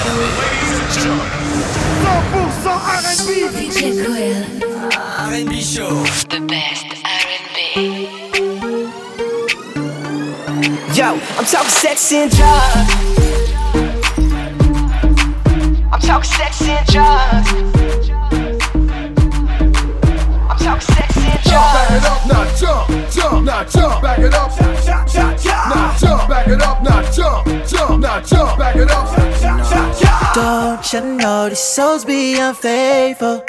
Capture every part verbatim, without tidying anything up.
Ladies and gentlemen, cent pour cent R and B. D J Cool. R and B Show. The best R and B. Yo, I'm talking sex and drugs. I'm talking sex and drugs. I'm talking sex and drugs. Back it up, now jump, jump, now jump. Back it up, jump, jump, jump, jump. Now jump, back it up, now jump, jump, now jump. Back it up, jump, jump, jump, jump. Don't you know these souls be unfaithful?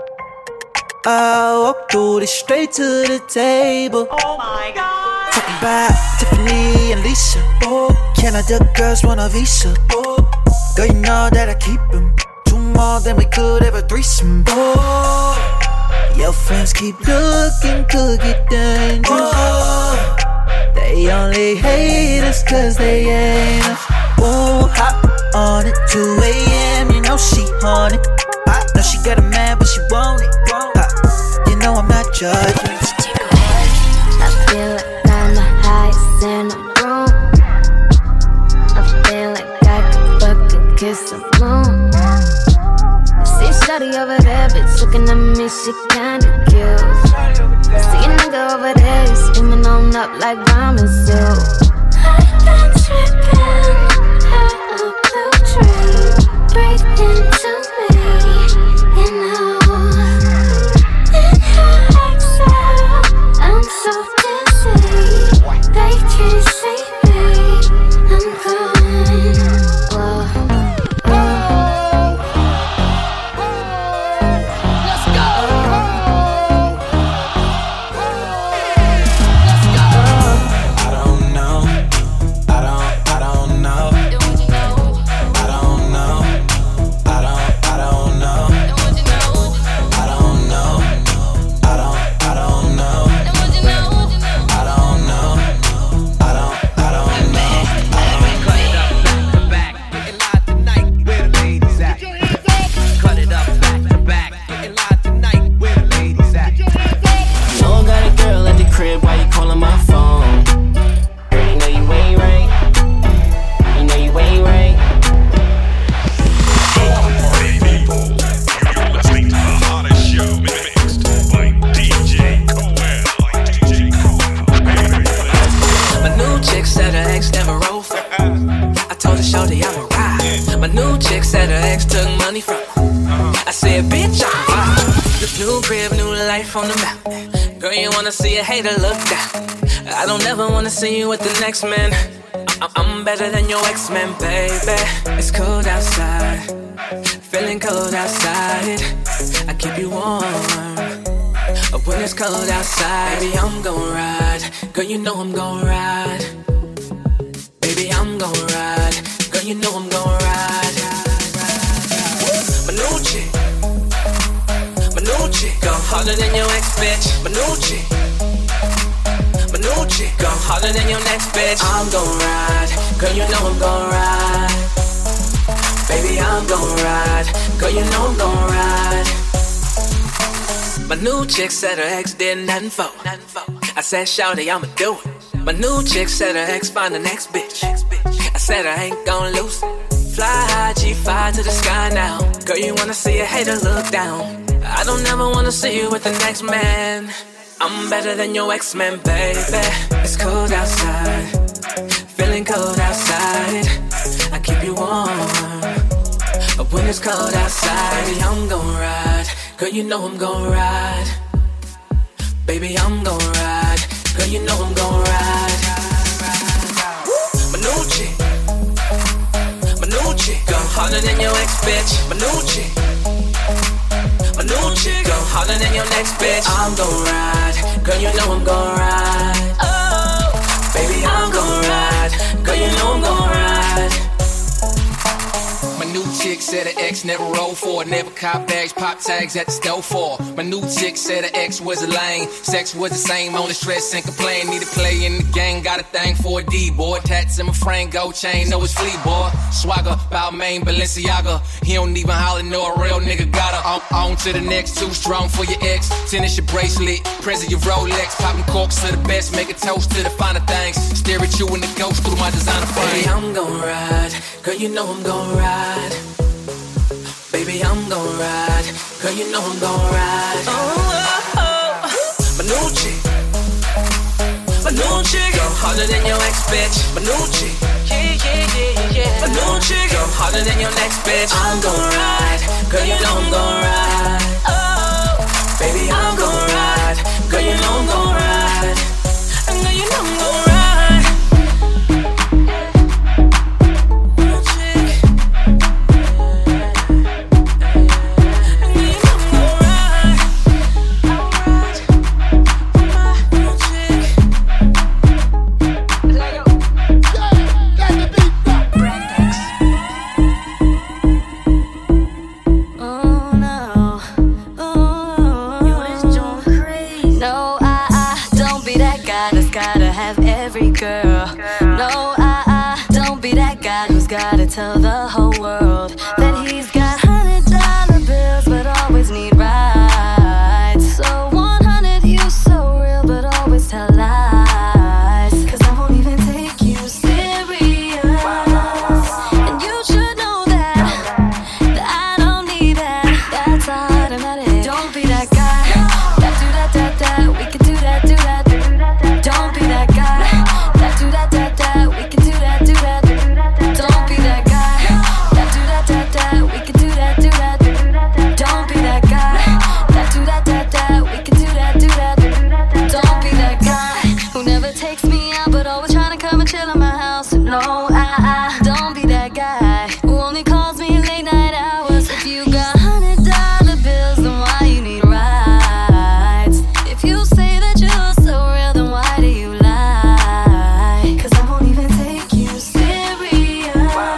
I walk through this straight to the table. Oh my God. Talking about Tiffany and Lisa. Oh, Canada girls want a visa. Oh, girl, you know that I keep them. Two more than we could ever threesome. Oh, your friends keep looking, could get dangerous. Oh, they only hate us cause they ain't us. Oh, hot on it, two a.m. You know she on it. I know she got a man, but she want it. Uh, you know I'm not judging. I feel like I'm the highest in the room. I feel like I could fucking kiss the moon. I see shawty over there, bitch, looking at me, she kinda cute. I see a nigga over there, he's screaming on up like ramen soup. I've been tripping, had a blue dream. Breathe into me, you know. In her exhale, I'm so dizzy. They can't see me, I'm going. Whoa, whoa. Let's go. I don't know. I don't, I don't know. I don't know. I don't, I don't know. I don't know. I don't, I don't know. I don't know. I don't, I don't know. Back, getting live tonight, where the ladies at? Cut it up back to back, getting live tonight, where the ladies at? No one got a girl at the crib, why you calling my phone? Girl, you know you ain't right. You know you ain't right. party people, you're listening to the hottest show mixed by D J Coel. D J Coel. My new chick said her ex never roll for her. I told her shorty I'm a ride. My new chick said her ex took money from her. I said, bitch, I'm fine. This new crib, new life on the mountain. Girl, you wanna see a hater look down. I don't ever wanna see you with the next man. I- I'm better than your ex-man, baby. It's cold outside, feeling cold outside. I keep you warm when it's cold outside. Baby, I'm gon' ride. Girl, you know I'm gon' ride. Baby, I'm gon' ride. Girl, you know I'm gon' ride. My new chick, my new chick, go harder than your ex, bitch. My new chick, my new chick, go harder than your next bitch. I'm gon' ride. Girl, you know I'm gon' ride. Baby, I'm gon' ride. Girl, you know I'm gon' ride. My new chick said her ex did nothing for. I said, shawty, I'ma do it. My new chick said her ex find the next bitch. I said I ain't gon' lose it. Fly high, G five to the sky now. Girl, you wanna see a hater look down. I don't ever wanna see you with the next man. I'm better than your ex-man, baby. It's cold outside, feeling cold outside. I keep you warm when it's cold outside. Baby, I'm gon' ride. Girl, you know I'm gon' ride. Baby, I'm gon' ride. Girl, you know I'm gon' ride. My new chick, my new chick, go harder than your ex, bitch. My new chick, my new chick, go harder than your next bitch. I'm gon' ride. Girl, you know I'm gon' ride. Oh, baby, I'm gon' ride. Girl, you know I'm gon' ride. My new chick said her ex never rolled for it. Never cop bags, pop tags at the store for her. My new chick said her ex was a lame. Sex was the same, only stress and complain. Need to play in the game, got a thing for a D-boy. Tats in my frame, gold chain, know it's flea boy. Swagger, Balmain, Balenciaga. He don't even holler, know a real nigga got her. On, on to the next, too strong for your ex. Tennis your bracelet, present your Rolex. Popping corks to the best, make a toast to the finer things. Stare at you and the ghost through my designer frame. Baby, I'm gon' ride, girl, you know I'm gon' ride. Baby, I'm gon' ride, girl, you know I'm gon' ride. Oh, oh, oh. My new chick, my new chick, go harder than your ex bitch. My new chick, yeah, yeah, yeah, yeah. My new chick, go harder than your next bitch. I'm gon' ride, girl, you know I'm gon' ride. Oh, baby, I'm gon' ride, girl, you know I'm gon' ride. And girl, you know I'm gon' ride. Gotta tell the whole world that he's got hundred dollar bills, but always need rides. So one hundred, you so real, but always tell lies. Cause I won't even take you serious. And you should know that, that I don't need that. That's automatic. Don't be that guy that do that, that, that. We can do that, do that. Don't be that guy that do that, that, that. We can do that, do that. Don't be that guy that do that, that, that. We can do that, do that. Don't be that guy that do that, that, that. We can do that, do that. Don't be that guy who never takes me out, but always trying to come and chill in my house. No, I, I don't be that guy who only calls me late night hours. If you got hundred dollar bills, then why you need rides? If you say that you're so real, then why do you lie? Cause I won't even take you serious.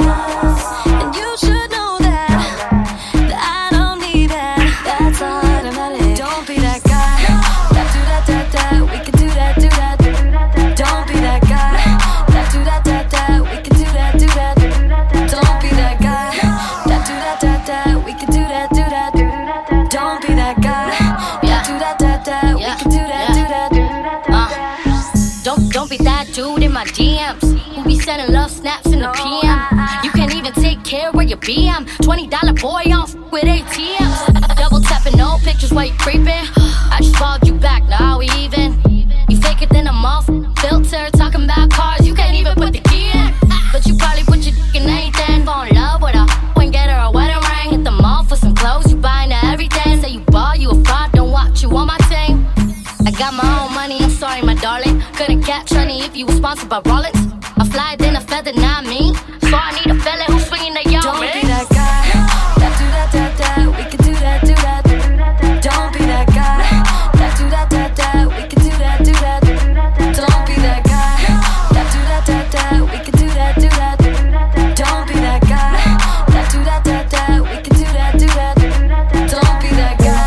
And you should know that, that I don't need that. That's automatic. Don't be that guy that do that, that, that. We can do that, do that. Don't be that guy that do that, that, that. We can do that, do that. Don't be that guy that do that, that, that. We can do that, do that. Don't be that guy that do that, that, that. We can do that, do that. Uh, don't don't be that dude in my D Ms who be sending love snaps in the P M. You can't even take care of your B M. Twenty dollar boy off with A T Ms. Double tapping, no pictures while you creeping. I just followed you back, now we even. You fake it, then I'm off. Filter, talking about cars, you can't even put the key in. But you probably put your dick in anything. Fall in love with her, and get her a wedding ring. Hit the mall for some clothes, you buying her everything. Say you ball, you a fraud, don't watch you on my team. I got my own money, I'm sorry, my darling. Couldn't catch honey if you were sponsored by Rolex. A fly, then a feather, not me. So I need a fella who's swinging the y'all. Don't be that guy that do that, that, that. We can do that, do that. Don't be that guy that do that, that, that. We can do that, do that. Don't be that guy that do that, that, that. We can do that, do that. Don't be that guy that do that, that, that. We can do that, do that. Don't be that guy.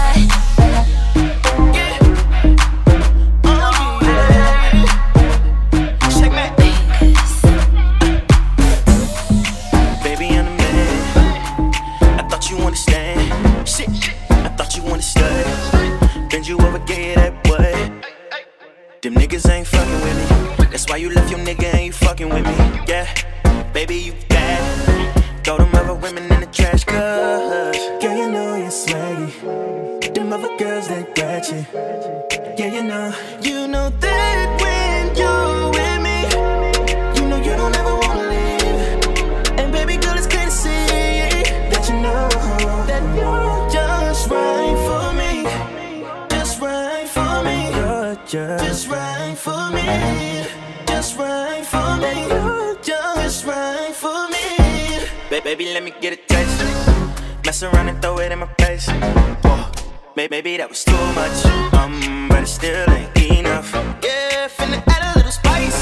Baby, I'm the man. I thought you understand. Shit, I thought you understood. Bend you over, get that butt. Them niggas ain't fucking with me. That's why you left your nigga and you fucking with me. Yeah, baby, you bad. Throw them other women in the trash, cuz girl, you know you're swaggy. Them other girls, they ratchet. Yeah, you know, you know that when you're with me, you know you don't ever wanna leave. And baby girl, it's clear to see that you know that you're just right for me. Just right for me. You're just right for me. Just right for me. You're just right for me. Ba- Baby, let me get a taste. Mess around and throw it in my face. Whoa. Maybe that was too much, um, but it still ain't enough. Yeah, finna add a little spice.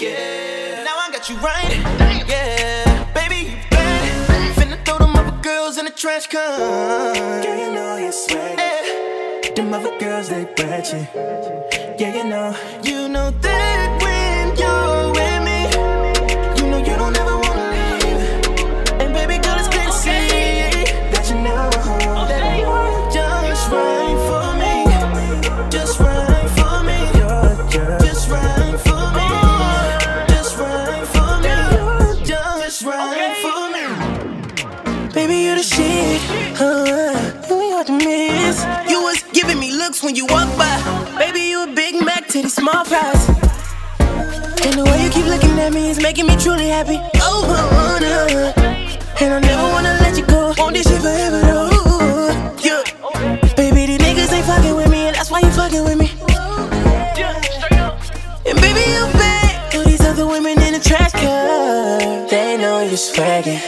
Yeah, now I got you right. Yeah, baby, you bad. Finna throw them other girls trash can. Yeah, you know you're swaggin'. Hey. Them other girls, they ratchet. Yeah, you know. You know that when you're with me, you know you don't ever wanna leave. And baby girl, it's clear to see that you know that you're just right for me. Just right for me. Just right for me. Just right for me. Just right for me. Baby, you the shit. Uh, you ain't hard to miss. You was giving me looks when you walk by. Baby, you a Big Mac to the small fries. And the way you keep looking at me is making me truly happy. Oh, I wanna. And I never wanna let you go. Want this shit forever, though. Yeah. Baby, these niggas ain't fucking with me, and that's why you fucking with me. And baby, you bad. All these other women in the trash can. They know you're swaggin'.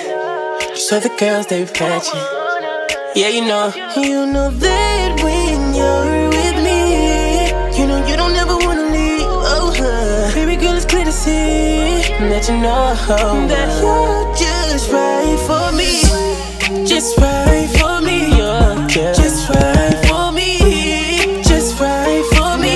So the girls, they patchin'. Yeah, you know. You know that when you're with me, you know you don't ever wanna leave. Oh, huh. Baby girl, it's clear to see that you know that you're just right for me. Just right for me. Yeah. Just right for me. Just right for me.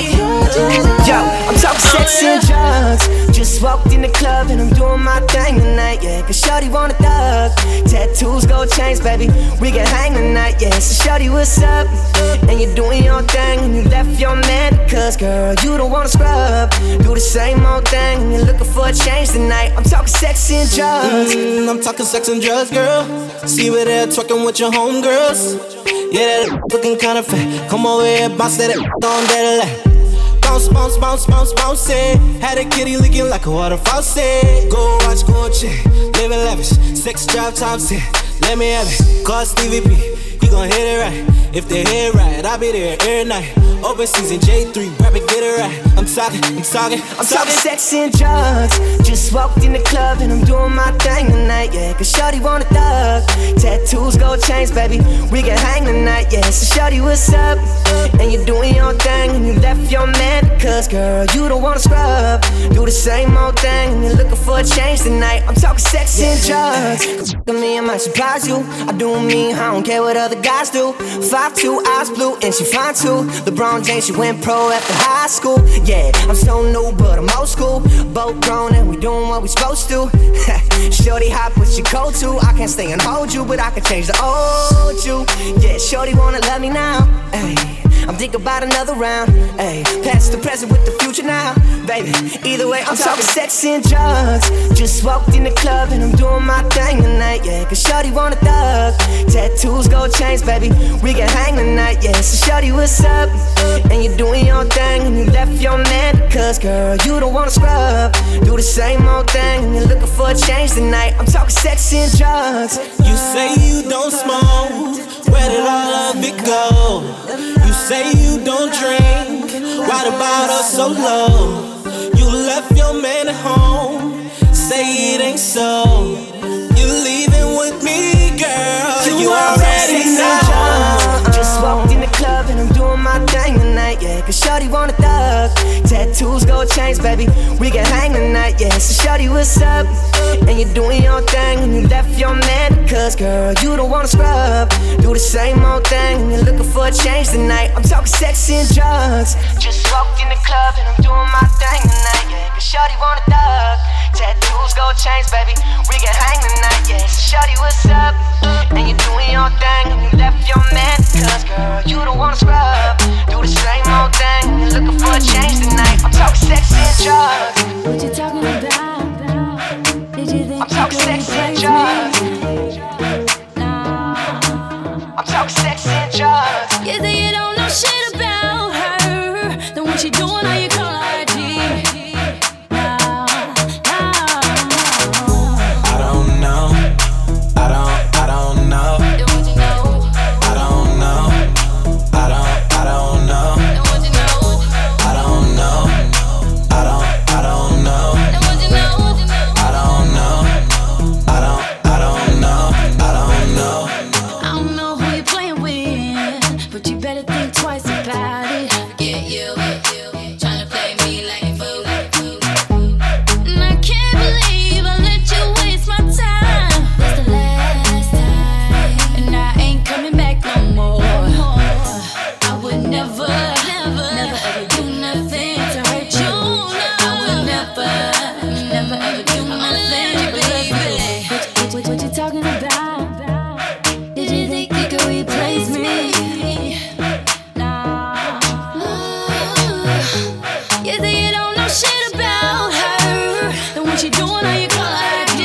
Yo, I'm talking sex and drugs. Just walked in the club and I'm doing my thing tonight, yeah. Cause shorty want a thug. Tattoos, gold chains, baby. We can hang tonight, yeah. So shorty, what's up? And you're doing your thing and you left your man. Cause girl, you don't wanna scrub. Do the same old thing and you're looking for a change tonight. I'm talking sex and drugs. Mm, I'm talking sex and drugs, girl. See where they're twerking with your homegirls. Yeah, that looking kinda fat. Come over here, bounce that on that lap. Bounce, bounce, bounce, bounce, bounce it. Had a kitty leaking like a water faucet. Go watch, go check, living lavish. Sex drive time set, let me have it. Call Stevie P, he gon' hit it right. If they hit it right, I'll be there every night. Open season J three, rap it, get it right. I'm talking, I'm talking, I'm, I'm talking sex and drugs. Just walked in the club and I'm doing my thing tonight, yeah. Cause shorty want a thug. Tattoos, gold chains, baby. We can hang tonight, yeah. So shorty, what's up? And you're doing your thing and you left your man. Cause girl, you don't wanna scrub. Do the same old thing and you're looking for a change tonight. I'm talking sex and drugs. Cause me, I might surprise you. I do me, I don't care what other guys do. five two, eyes blue, and she fine too. LeBron James, she went pro after high school. Yeah, I'm so new, but I'm old school. Both grown and we doing what we supposed to. Shorty hot, but she cold too. I can't stay and hold you, but I can change the old you. Yeah, shorty wanna love me now. Ay, I'm thinking about another round. Ay, past the present with the future now. Baby, either way, I'm, I'm talking sex and drugs. Just walked in the club and I'm doing my thing tonight, yeah. Cause shorty want a thug. Tattoos, gold chains, baby. We can hang tonight, yeah. So shorty, what's up? And you're doing your thing and you left your man. Cause girl, you don't wanna scrub. Do the same old thing and you're looking for a change tonight. I'm talking sex and drugs. You say you don't smoke, where did all of it go? You say you don't drink, why the bottle so low? You left your man at home, say it ain't so. You leaving with me, girl, you, you already know. Just walked in the club and I'm doing my thing tonight, yeah. Cause shorty want a thug. Tattoos, gold chains, baby. We can hang tonight, yeah. So shorty, what's up? And you're doing your thing and you left your man. Cause girl, you don't wanna scrub. Do the same old thing and you're looking for a change tonight. I'm talking sex and drugs. Just walked in the club and I'm doing my thing tonight, yeah. Cause shorty want a thug. Tattoos, gold chains, baby. We can hang tonight, yeah. So shorty, what's up? And you're doing your thing and you left your man. Cause girl, you don't wanna scrub. Do the same old thing and you're looking for a change tonight. I'm talking sex and drugs. What you talking about? Did you think I'm talking sex and drugs. I'm talking sex and drugs. You think you don't know shit about her? Then what you doing? How you call I G? No, no. I don't know, I don't, I don't what you doing on your caller I D?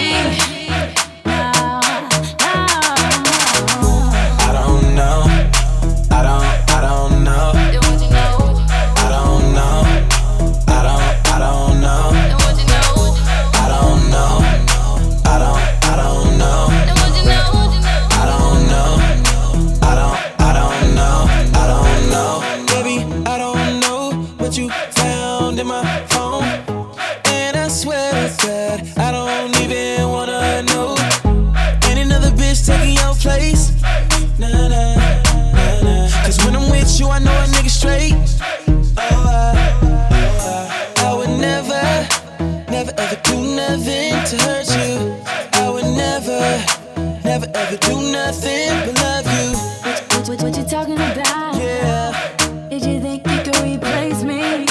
I don't know. I don't, I don't know. Then what you know? I don't know. I don't, I don't know. Then what you know? I don't know. I don't, I don't know. Then what you know? I don't know. I don't, I don't know. I don't know. Baby, I don't know what you found in my phone. And I swear to God, I don't even wanna know. Ain't another bitch taking your place. Nah, nah, nah, nah. Cause when I'm with you, I know a nigga straight. Oh, I, oh, I, I would never, never ever do nothing to hurt you. I would never, never ever do nothing but love you. What, what, what you talking about? Yeah. Did you think you could replace me?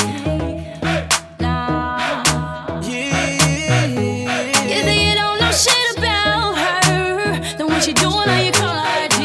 Nah. Yeah. You think you don't know shit about her? Then what you doing on your caller I D?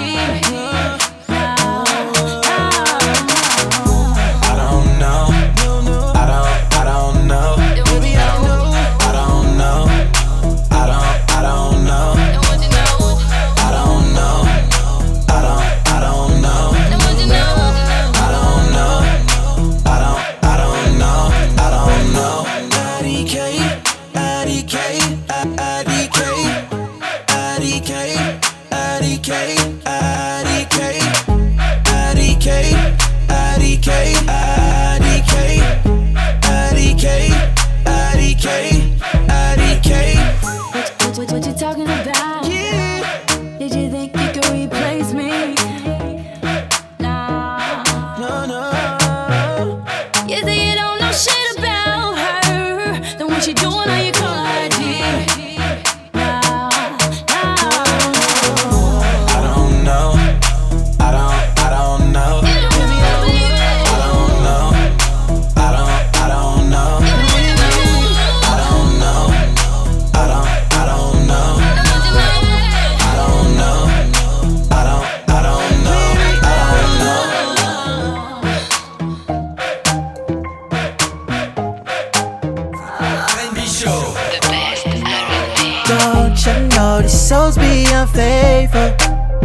I don't know. I don't, I don't know. Baby, I know. I don't know. I don't, I don't know. Then what you know? I don't know. I don't, I don't know. Then what you know? I don't know. I don't, I don't know. I don't know. I D K, I D K, I D K, I D K, I D K, I D K, I D K, I D K, I D K, I D K, I D K, I D K. What, what, what you talking about? Yeah. Did you think you could replace me? Nah. No, no. You think you don't know shit about her? Then what you doing on your caller I D? Nah, nah. I don't know. I don't, I don't know. You don't know, baby. I don't know. I don't, I don't know. Then what you know? I don't know. I don't, I don't know. Then what you know? I don't know. I don't, I don't know. I don't know. The best R and B. Don't you know these souls be unfaithful?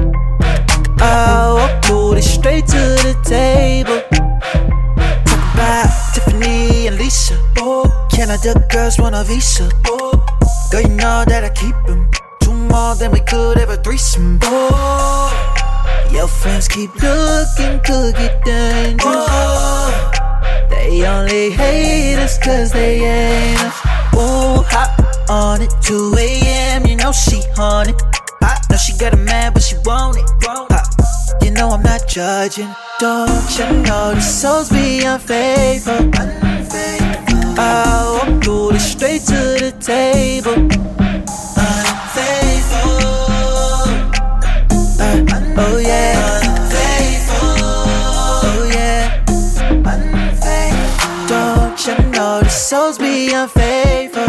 I walk booty straight to the table. Talk about Tiffany and Lisa. Oh, Canada girls want a visa. Oh, girl, you know that I keep them. Two more than we could ever threesome. Oh, your friends keep looking, could get dangerous. Oh, they only hate us cause they ain't us. Ooh, hot on it, two a.m. You know she on it. I know she got a man, but she want it. Uh, you know I'm not judging. Don't you know these souls be unfaithful? I walk through this straight to the table. Unfaithful. Uh, oh yeah. Unfaithful. Oh yeah. Unfaithful. Don't you know these souls be unfaithful?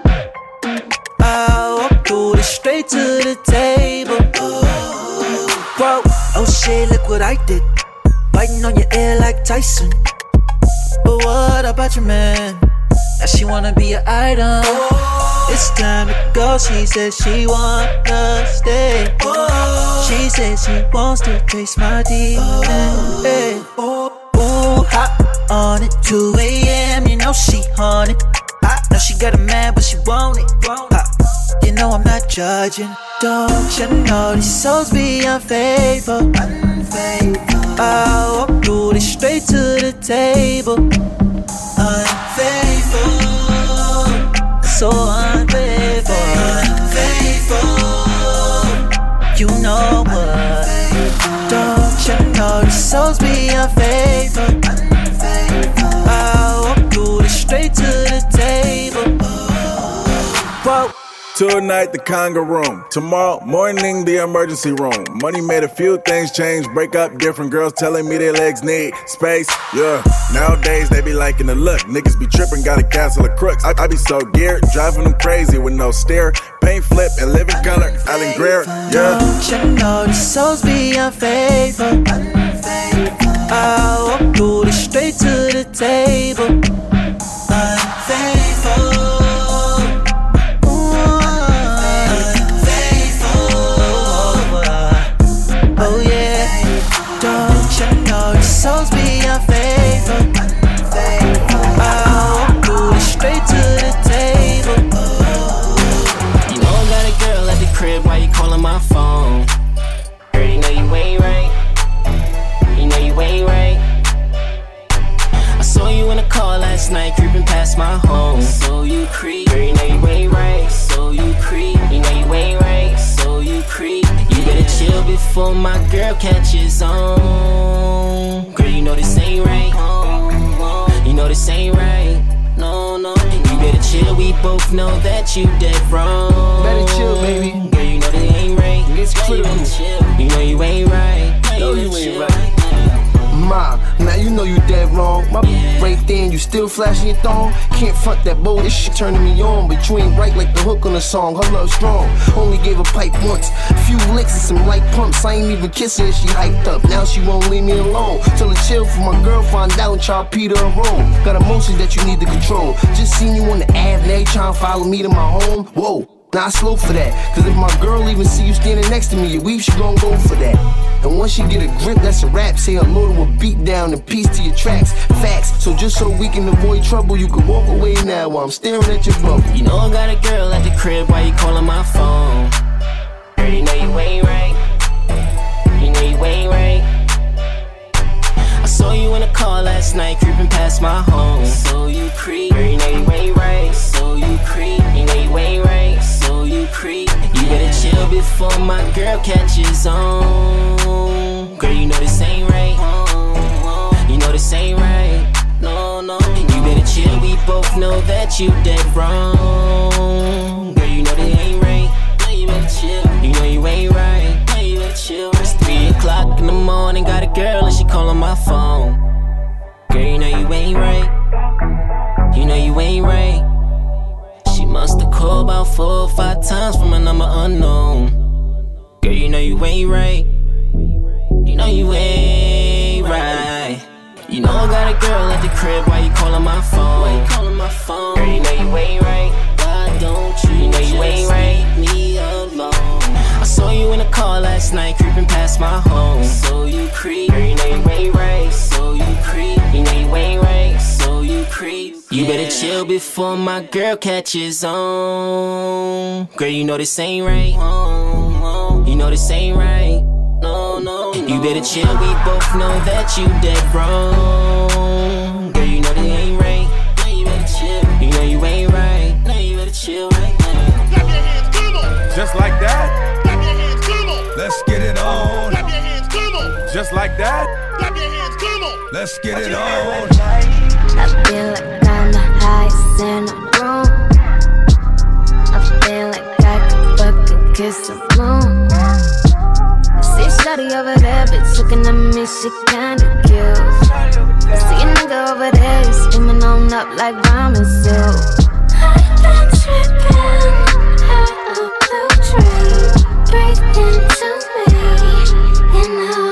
I walk through this straight to the table. Whoa, oh shit, look what I did. Biting on your ear like Tyson. But what about your man? Now she wanna be an item. It's time to go, she says she wanna stay. She says she wants to taste my D N A. Ooh, hot on it, two a.m. You know she on it. I know she got a man, but she want it. Uh, you know I'm not judging. Don't you know these souls be unfaithful? I walk through this straight to the table. Unfaithful, so unfaithful. Unfaithful, you know what? Don't you know these souls be unfaithful? I walk through this straight to the table. Whoa. Tonight, the conga room. Tomorrow morning, the emergency room. Money made a few things change. Break up, different girls telling me their legs need space. Yeah, nowadays they be liking the look. Niggas be tripping, got a castle of crooks. I, I be so geared, driving them crazy with no steer. Paint flip and living color. Alan Greer, yeah. Don't you know these souls be unfaithful? I walk through this straight to the table. Unfaithful. you creep. Girl, you know you ain't right, so you creep. You know you ain't right, so you creep. You better chill before my girl catches on. Girl, you know this ain't right. You know this ain't right. No, no. You better chill, we both know that you dead wrong. Better chill, baby. Girl, you know this ain't right. It's clear. You know you ain't right. No, you ain't right. Ma, now you know you dead wrong. My yeah. right there and you still flashing your thong. Can't front that boy, this shit turning me on. But you ain't right like the hook on the song. Her love strong, only gave a pipe once. Few licks and some light pumps. I ain't even kissing her, she hyped up. Now she won't leave me alone. Tell her chill for my girl, find out and try to Peter her roll. Got emotions that you need to control. Just seen you on the Ave, now you trying to follow me to my home. Whoa. Nah, slow for that. Cause if my girl even see you standing next to me, your weave, she gon' go for that. And once she get a grip, that's a rap. Say hello to a beat down and peace to your tracks. Facts, so just so we can avoid trouble, you can walk away now while I'm staring at your bubble. You know I got a girl at the crib, why you calling my phone? Girl, you know you ain't right. You know you ain't right. I saw you in a car last night, creeping past my home. So you creep. Girl, you know you ain't right. So you creep. You know you ain't right. So you creep. You better chill before my girl catches on. Girl, you know this ain't right. You know this ain't right. No, no. You better chill, we both know that you dead wrong. Girl, you know this ain't right. You better chill. You know you ain't right. You better chill. It's three o'clock in the morning, got a girl and she calling my phone. Girl, you know you ain't right. You know you ain't right. She must've called about four or five times from a number unknown. Girl, you know you ain't right. You know you ain't right. You know I got a girl at the crib, why you calling my phone? Why you calling my phone? Girl, you know you ain't right. Why don't you? You know you ain't right. Me alone. I saw you in a car last night, creeping past my home. So you creep. Girl, you know you ain't right. So you creep. You know you ain't right. So you creep. You better chill before my girl catches on. Girl, you know this ain't right. You know this ain't right. No, no. You better chill, we both know that you dead wrong. Girl, you know this ain't right. You better chill. You know you ain't right. No, you better chill right now. Clap your hands, come on. Just like that. Clap your hands, come on. Let's get it on. Clap your hands, come on. Just like that. Clap your hands, come on. Let's get it on. I feel like I'm the highest in the room. I feel like I could fucking kiss the moon. I see shawty over there, bitch looking at me, she kinda cute. I see a nigga over there, he's skimming on up like ramen soup. I've been tripping, had a blue dream. Breathe into me, you know.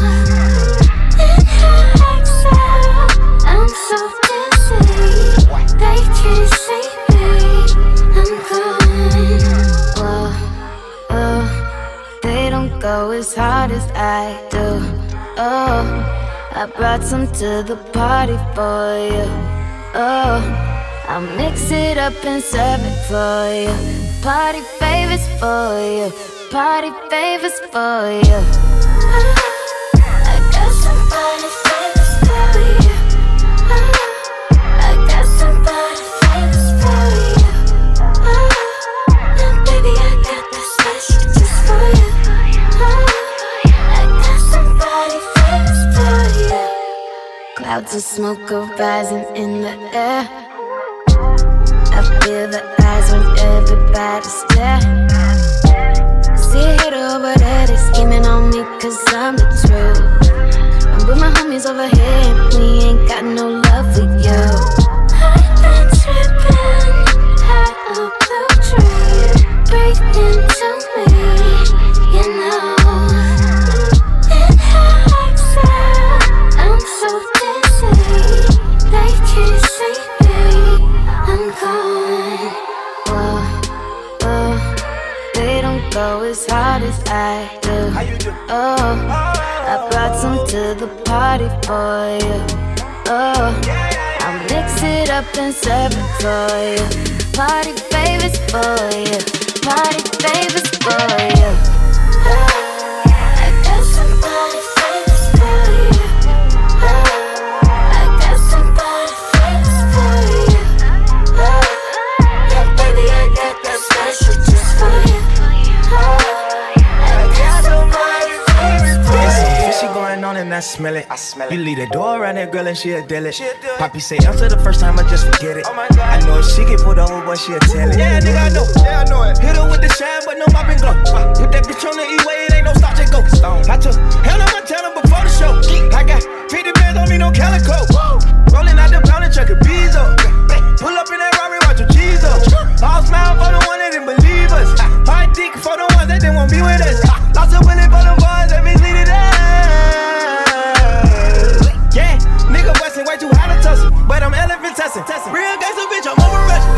In her exhale, I'm so dizzy. They can't see me, I'm gone. Whoa, oh, they don't go as hard as I do. Oh, I brought some to the party for you. Oh, I'll mix it up and serve it for you. Party favors for you. Party favors for you. Oh, I got some party favors for you. Oh, I got some party favors for you. Oh, now baby I got this special just for you. Oh, I got some party favors for you. Clouds of smoke are rising in the air. I feel the eyes when everybody stare. See a hater over there, they scheming on me cause I'm the truth. I'm with my homies over here and we ain't got no love for you. I've been tripping, had a blue dream. Breathe into me, you know. In her exhale, I'm so dizzy. They can't see me, I'm gone. Whoa, whoa. They don't go as hard as I do. Oh, I brought some to the party for you. Oh, I'll mix it up and serve it for you. Party favors for you. Party favors for you. Oh, I got some party favors for you. Oh, I got some party favors for you. Oh, smell it. I smell it. You leave the door around that girl and she'll deal it. Poppy say answer the first time, I just forget it. Oh my God. I know if she get pulled over, boy, she'll tell it. Yeah, nigga, I know. Yeah, I know it. Hit her with the shine, but no mop and glow. Put that bitch on the E-way, it ain't no stop, just go. I took Hannah Montana before the show. I got fifty bands on me, no calico. Rolling out the pound and chuck a bees up. Pull up in that Rari, watch your cheese up. All smile for the one that didn't believe us. Hard dick for the ones that didn't want to be with us. Lost a willing for the boys that misleaded us. Yeah, nigga bustin' way too hot to tussle, but I'm elephant tussin'. Real gangsta bitch, I'm over rushing.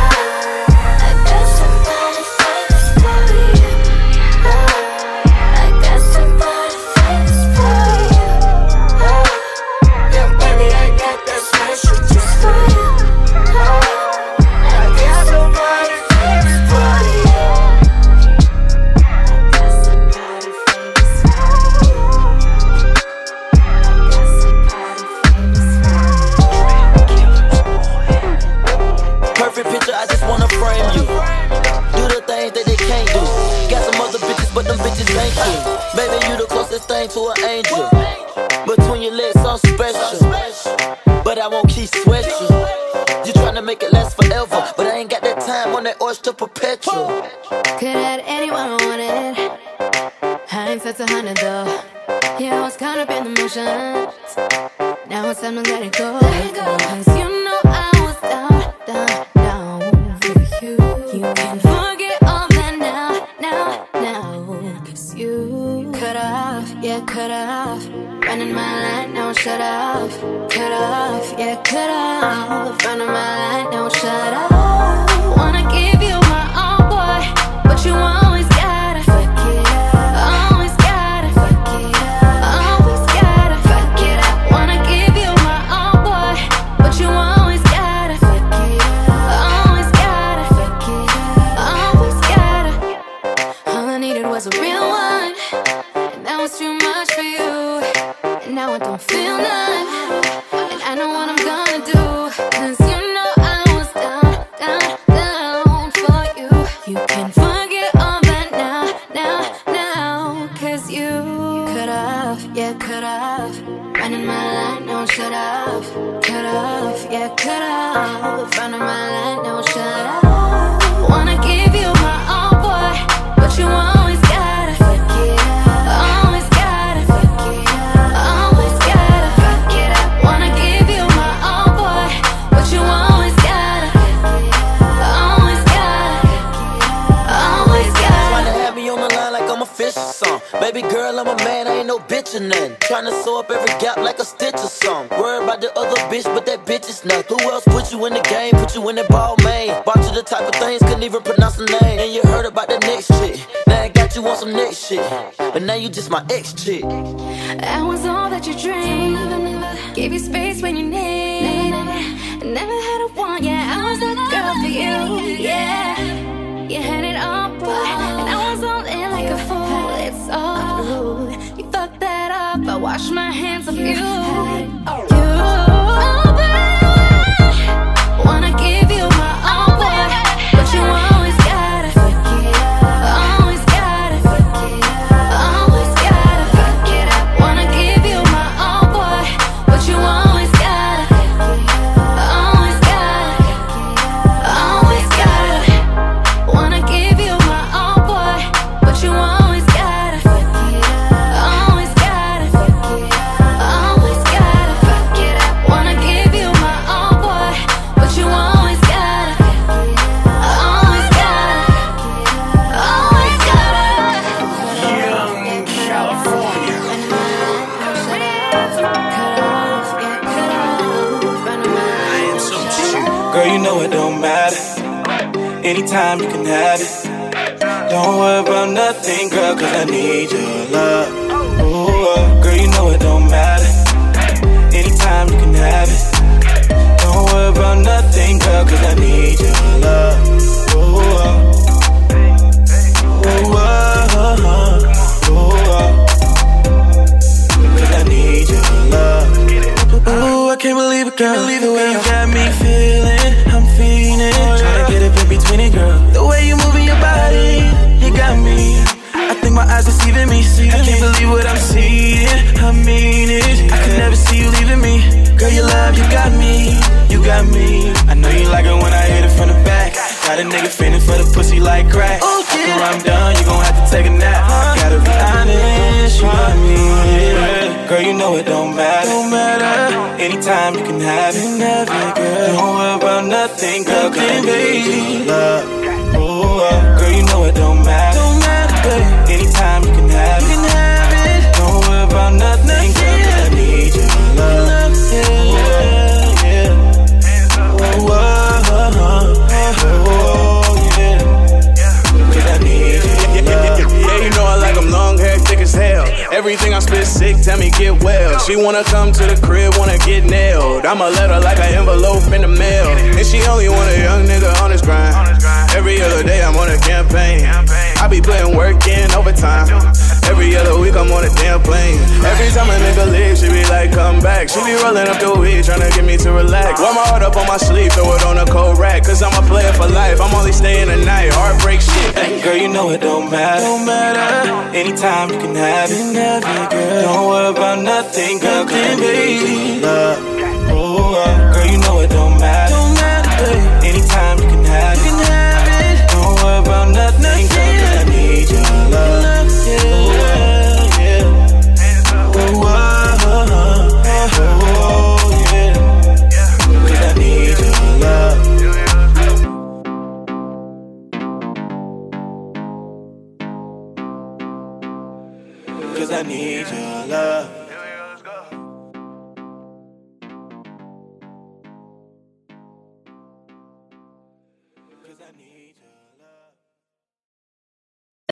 To an angel, between your legs, so special. But I won't keep sweating. You tryna make it last forever, but I ain't got that time on that oyster perpetual. Could have anyone wanted. Hindsight's a hundred though. Yeah, I was caught up in the motions. Now it's time to let it go. Let it go. Cause you know I was down, down, down for you. You can forget all that now, now, now. Cause you cut off, yeah, cut off. Running my line, now shut off. Cut off, yeah, cut off. Running my line, now shut off. Wanna give you my all, boy, but you always gotta fuck it up. Always gotta fuck it up. Always gotta fuck it up. Wanna give you my all, boy, but you always gotta fuck it up. Always gotta fuck it up. Always gotta. All I needed was a real one, and that was too much for you. And now I don't feel none, and I know what I'm gonna do. Cause you know I was down, down, down for you. You can forget all that now, now, now. Cause you cut off, yeah, cut off. Running my line, no shut off. Cut off, yeah, cut off. Running my line, no shut off. Wanna give you my all, boy, but you always gotta fuck it up. Always gotta fuck it up. Always gotta fuck it up. Wanna give you my all, boy, but you always gotta fuck it up. Always gotta fuck it up. Always gotta. Tryna have me on the line like I'm a fish or something. Baby girl, I'm a man, I ain't no bitch or nothing. Tryna sew up every gap like a stitch or something. Worried about the other bitch, but that bitch is nothing. Who else put you in the game, put you in that ball, man? Bought you the type of things, couldn't even pronounce the name. And you heard about the next chick. Now I got you on some next shit, but now you just my ex chick. I was all that you dreamed. Never, never gave you space when you need. Never, never, never had a want. Yeah, I was that girl for you. Yeah, you had it all, boy, and I was all in like a fool. It's all rude. You fucked that up. I wash my hands of you. You, oh, baby, wanna give you my all, boy, but you always gotta fuck it up. Always gotta fuck it up. Always gotta fuck it up. Wanna give you my all, boy, but you always gotta fuck it up. Always gotta fuck it up. Always gotta. Wanna give you my all, boy, but you always gotta fuck it up. Always gotta fuck it up. Always gotta fuck it up. Wanna give you my all, boy, but you always gotta fuck it up. Always gotta fuck it up. Always gotta. Young California. I am so cute. Girl, you know it don't matter. Anytime you can have it. Don't worry about nothing, girl, cause I need your love. Ooh, uh, girl, you know it don't matter. Anytime you can have it. Don't worry about nothing, girl, cause I need your love. Ooh, uh, ooh, uh, ooh, uh, cause I need your love. Ooh, I can't believe it, girl. The way you got me feeling, I'm feeling. Tryna get up in between it, girl. The way you moving your body, you got me. I think my eyes deceiving me. I can't believe what I'm seeing. I mean it. Anytime you got me, you got me. I know you like it when I hit it from the back. Got a nigga feeling for the pussy like crack. Oh, yeah. After I'm done, you gon' have to take a nap. Gotta be honest, you got me. Yeah. Girl, you know it don't matter. Don't matter. Anytime you can have it, have it, girl. Don't worry about nothing, girl. Nothing, baby. Love. Oh, uh, girl, you know it don't matter. Don't matter, baby. Anytime you can have it, you can have it. Don't worry about nothing, girl. I need your love. Yeah, yeah. Oh, oh, oh, oh, yeah. Cause I need your love. Yeah, you know I like them long hair, thick as hell. Everything I spit sick, tell me get well. She wanna come to the crib, wanna get nailed. I'ma let her like an envelope in the mail. And she only want a young nigga on his grind. Every other day I'm on a campaign. I be putting work in overtime. Every other week I'm on a damn plane. Every time a nigga leave, she be like, come back. She be rolling up the weed, tryna get me to relax. Wear my heart up on my sleeve, throw it on a cold rack. Cause I'm a player for life, I'm only staying a night. Heartbreak shit. Hey, girl, you know it don't matter. Don't matter. Anytime you can have it, have it, girl. Don't worry about nothing, girl. Nothing, baby. Love. Oh, uh, girl, you know it don't matter. Don't matter, baby. Anytime you can have it, you can have it. Don't worry about nothing, girl. Cause I need your love. Yeah, yeah. Oh, oh, oh, oh, yeah. Cause I need your love. Cause I need your love.